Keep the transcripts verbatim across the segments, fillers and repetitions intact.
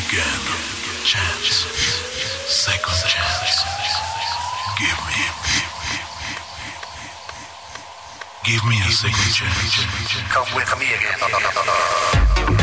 again. Chance, second chance. Give me, give me a second chance. Come with me again.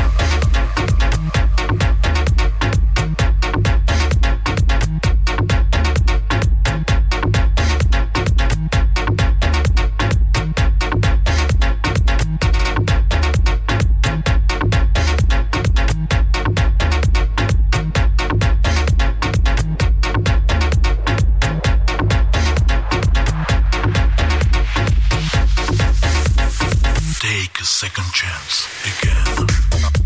Take a second chance again.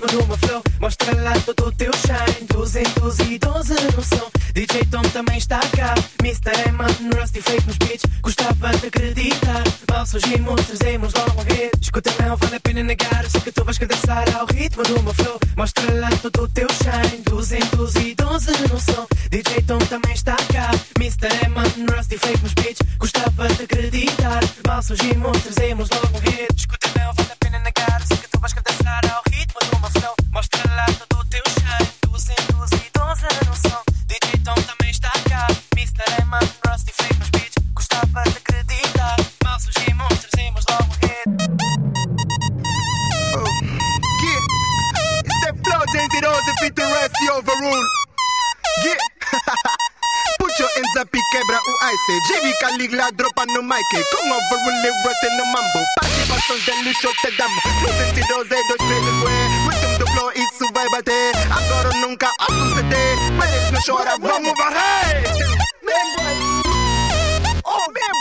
ritmo numa flow. Mostra lá todo o teu shine. Doze em doze e doze no som. D J Tom também está cá. mister Eman, Rusty feito nos beats. Gostava de acreditar. Mal surgimos, trazemos logo um hit. Escuta, não vale a pena negar. Eu sei que tu vais querer dançar ao ritmo numa flow. Mostra lá todo o teu shine. Doze em doze e doze no som. D J Tom também está cá. mister Eman, Rusty feito nos beats. Gostava de acreditar. Mal surgimos, trazemos logo um hit. Escuta, não vale a pena negar. Eu sei que tu vais querer dançar ao ritmo numa flow. Mostra lá todo o teu shine. Doze em doze e doze no som. D J Tom também está cá. mister Eman, Rusty feito nos beats. Gostava de acreditar. Mal surgimos, trazemos logo um hit. Oh, yeah. It's that flow, James Rose, fit the rest, you overrule. Yeah. Put your hands up e quebra o ice. J V Caligula dropa no mic. Com overrule, rote no mambo. Participações de luxo te damos. No cento e doze, dois, três, ué. Ritmo do flow, isso vai bater. Agora ou nunca, outro C D. Meres não chora, vamos varrer. Mesmo, boy. Oh, mesmo.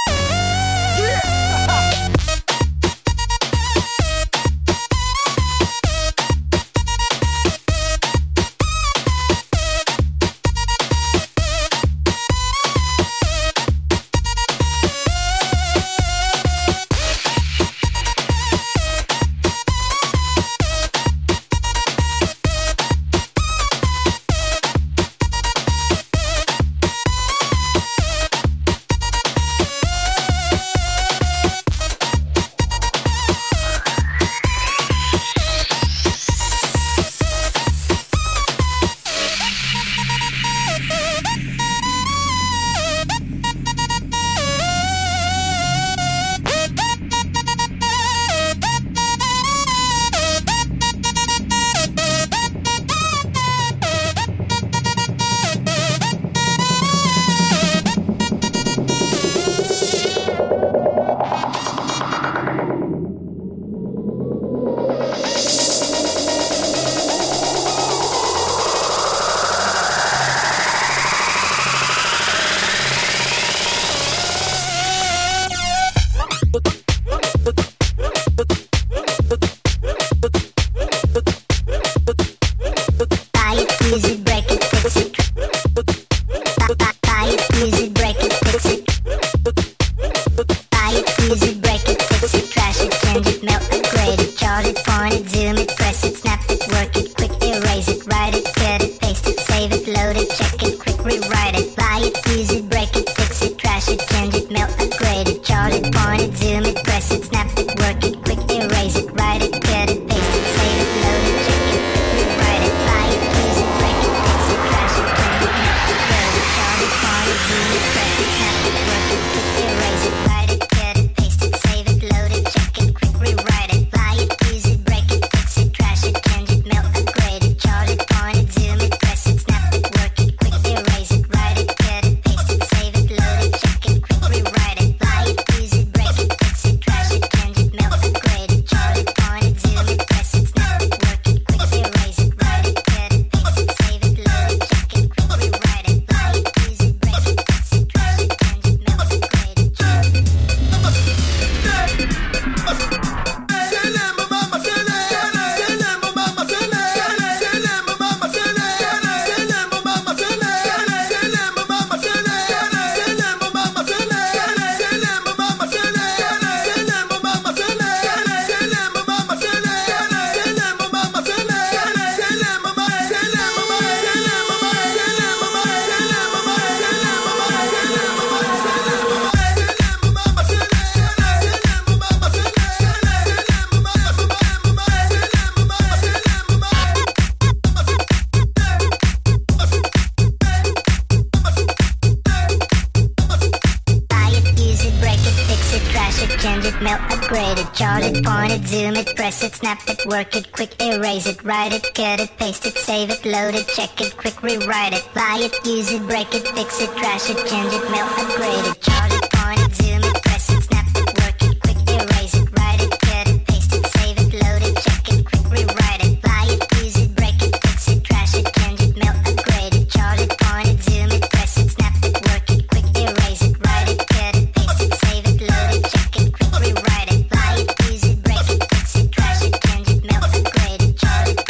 Work it, quick erase it, write it, cut it, paste it, save it, load it, check it, quick rewrite it, buy it, use it, break it, fix it, trash it, change it, mail, upgrade it, chart it, point it, zoom it, press it, snap it, work it, quick erase it, write it, cut it, paste it, save it, load it, check it, quick rewrite it, buy it, use it, break it, fix it, trash it, change it, mail, upgrade it, chart it, point it, zoom it, press it, snap it, work it, quick erase it, write it, cut it, paste it, save it, load it, check it, quick rewrite it, buy it, use it, break it, fix it, trash it, change it, mail, upgrade it, chart it,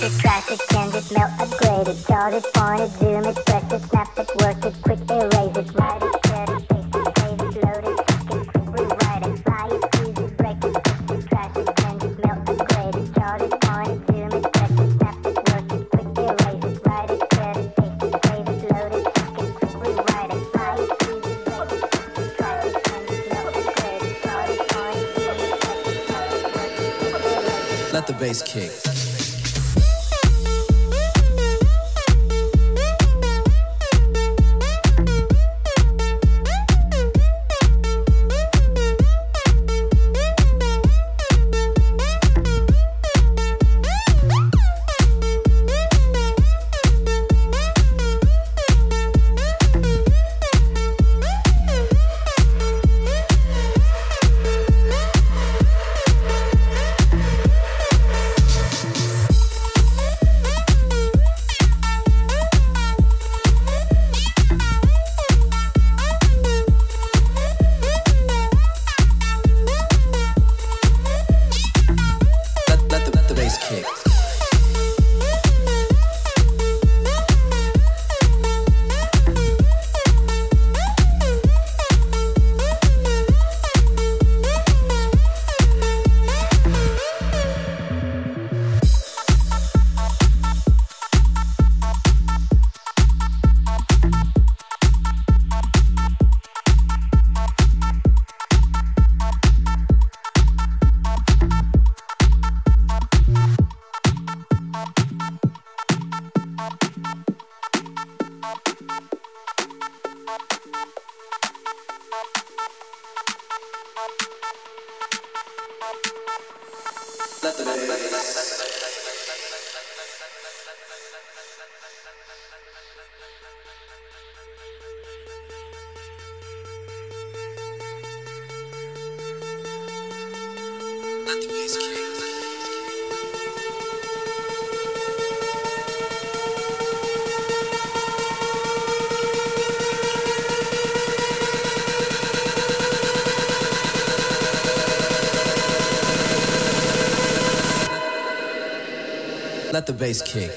it, trash it, change it, melt, upgrade it, charge it, point it, zoom it, press it, snap it, work it, quick erase it, write it, cut it, paste it, save it, load it, check it, quick rewrite it, fly it, use it, break it, fix it, trash it, change it, melt, upgrade it, charge it, point it, zoom it, press it, snap it, work it, quick erase it, write it, cut it, paste it, save it, load it, check it, quick rewrite it, fly it, use it, break it, fix it, trash it, change it, melt, upgrade it, charge it, point it, zoom it, press it, snap it, work it, quick erase it. Let the bass kick. Let the bass kick.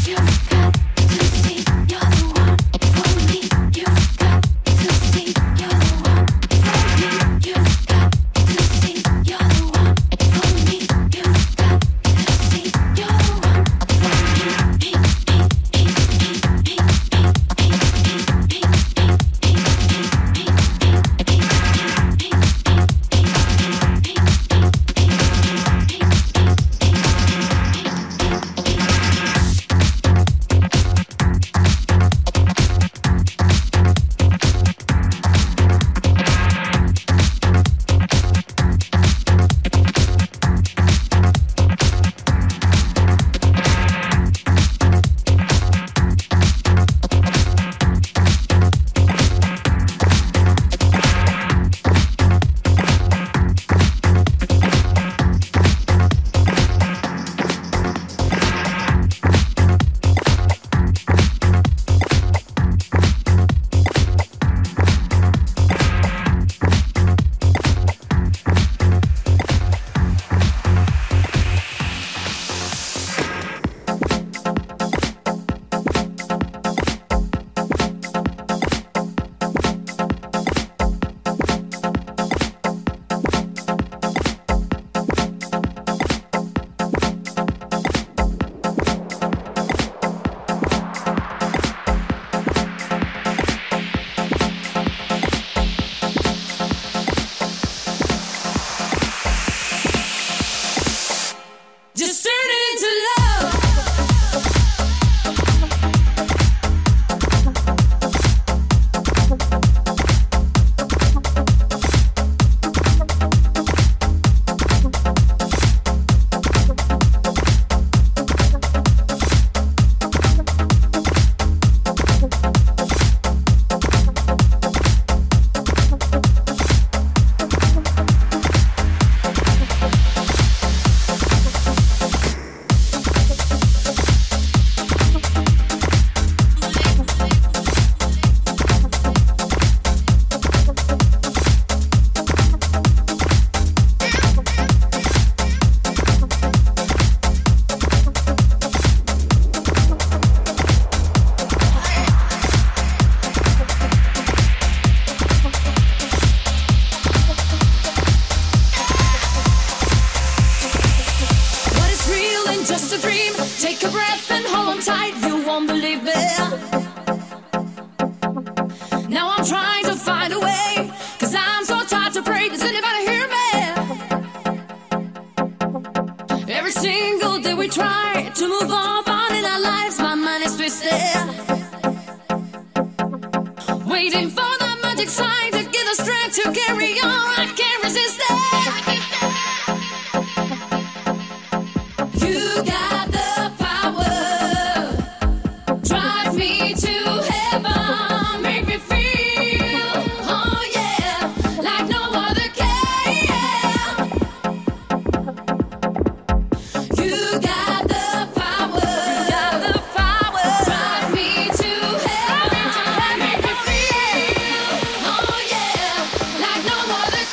Like no other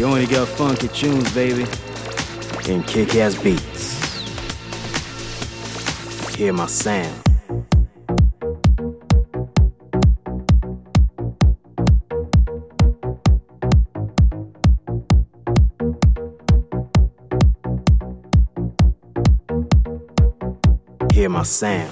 We only got funky tunes, baby, and kick-ass beats. Hear my sound. Hear my sound.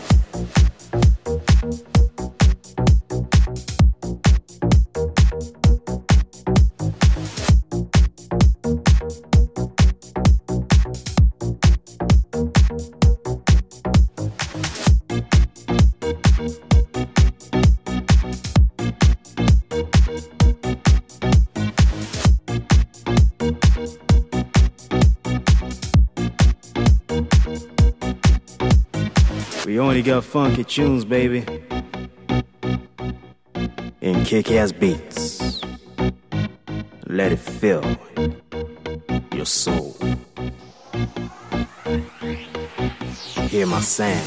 We only got funky tunes, baby, and kick-ass beats. Let it fill your soul. Hear my sound.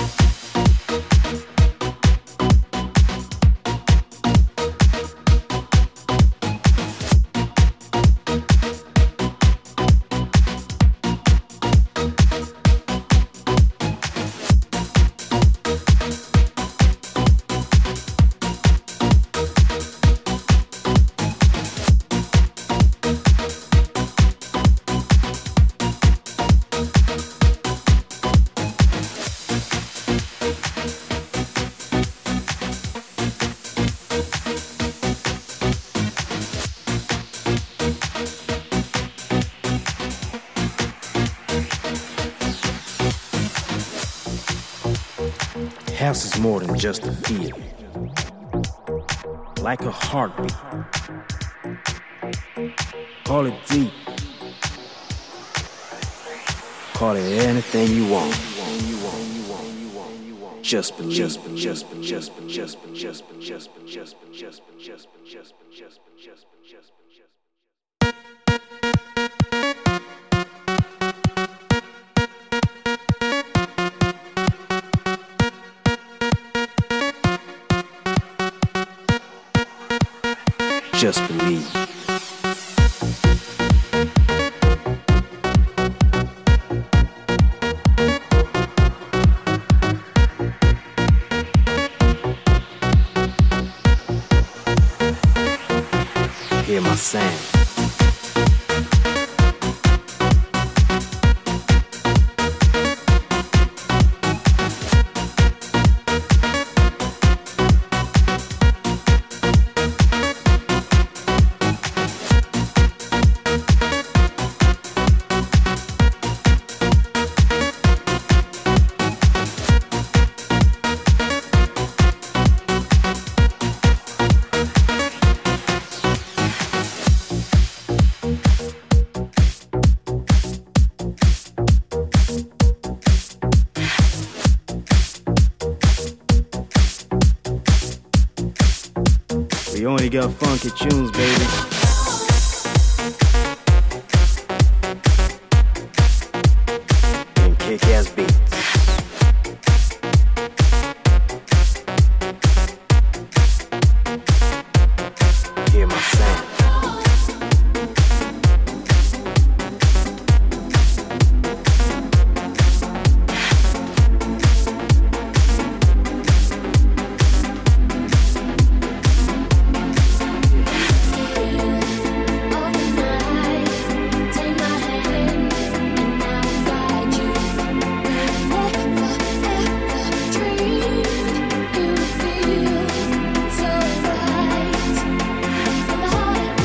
House is more than just a feel, like a heartbeat. Call it deep, call it anything you want. Just believe, just believe, just believe, just believe, just believe, just believe, just believe, just believe, just believe, just believe, just believe, just believe, just believe, just believe. Just believe. Hear my sound. We only got funky tunes, baby. And kick-ass beats. Hear my sound. Heart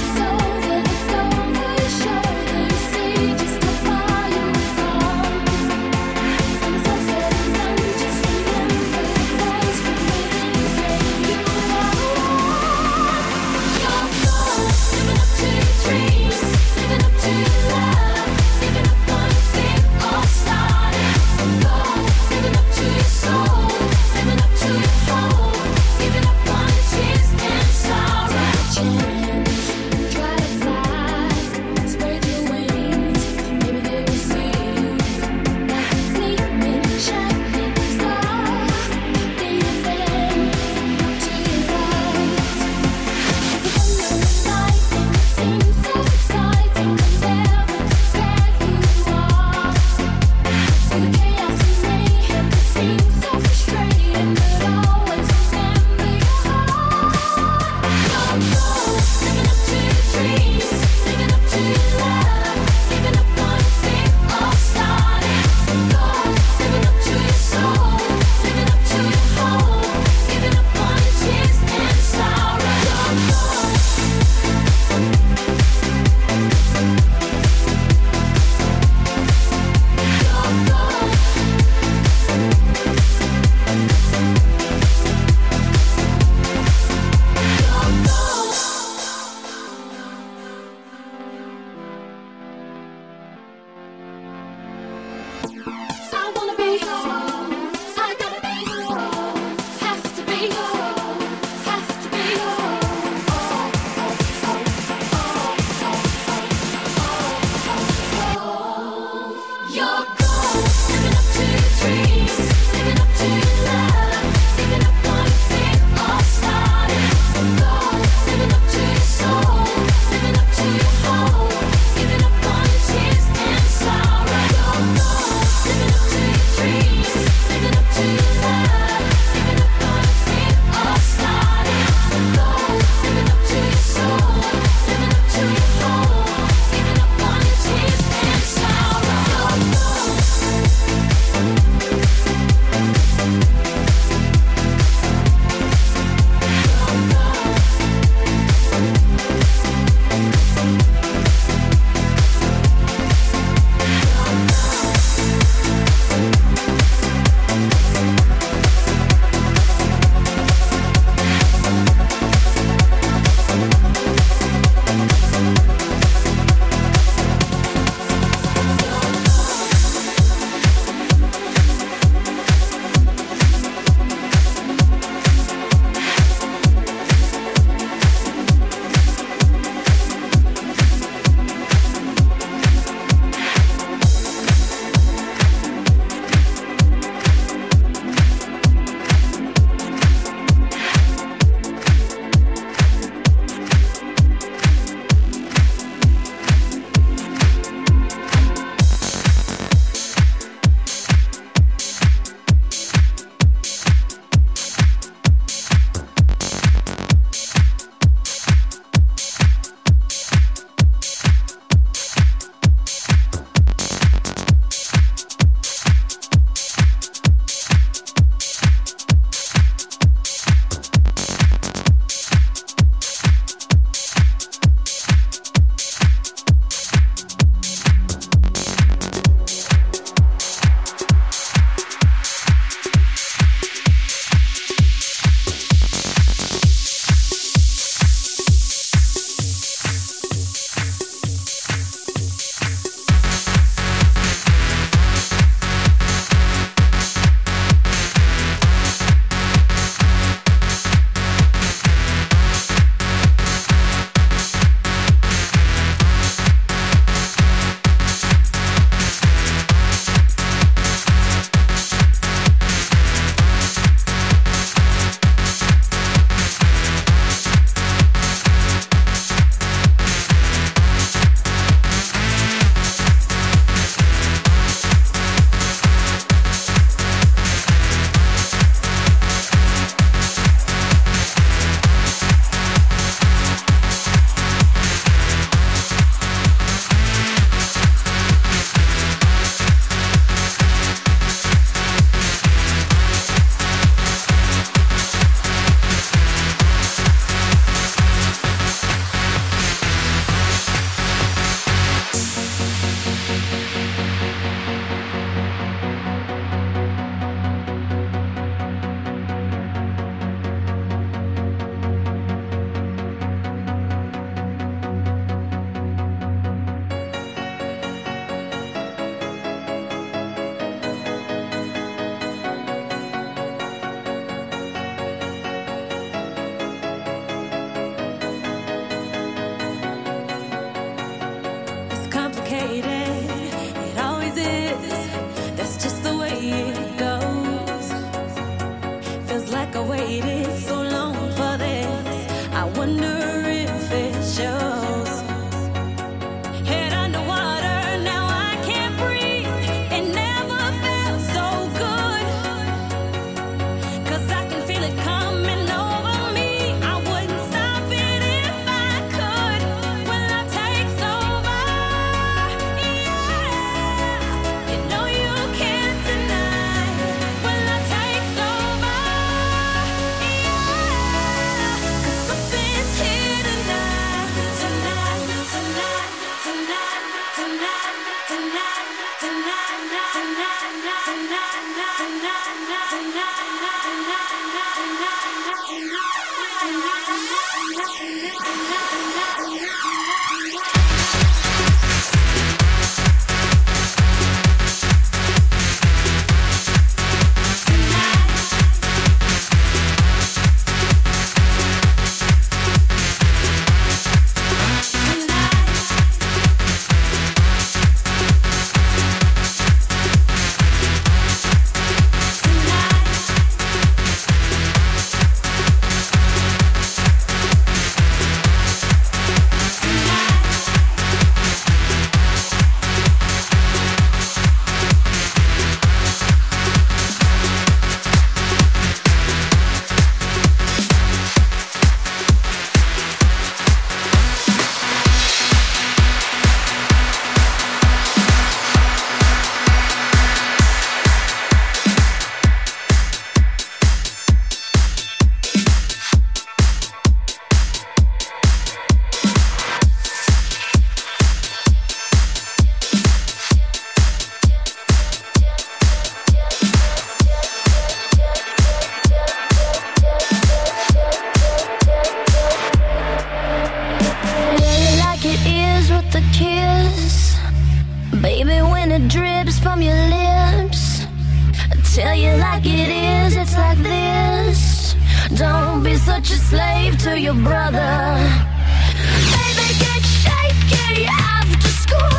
Baby, when it drips from your lips, I tell you like it is, it's like this. Don't be such a slave to your brother. Baby, get shaky after school.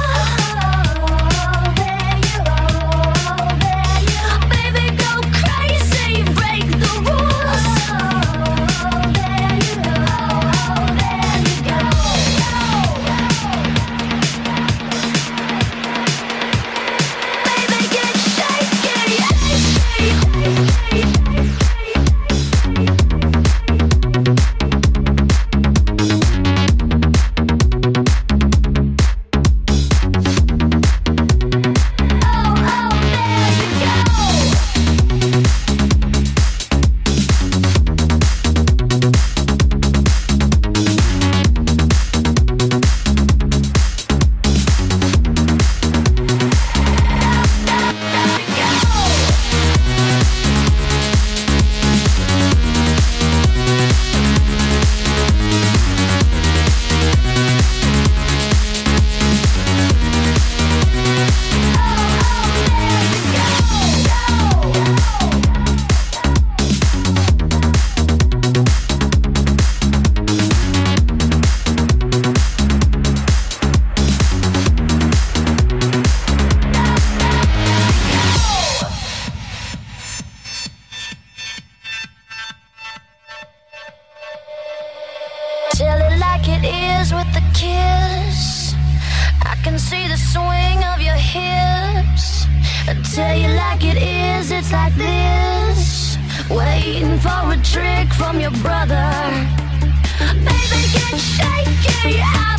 Waiting for a trick from your brother. Baby, get shaky.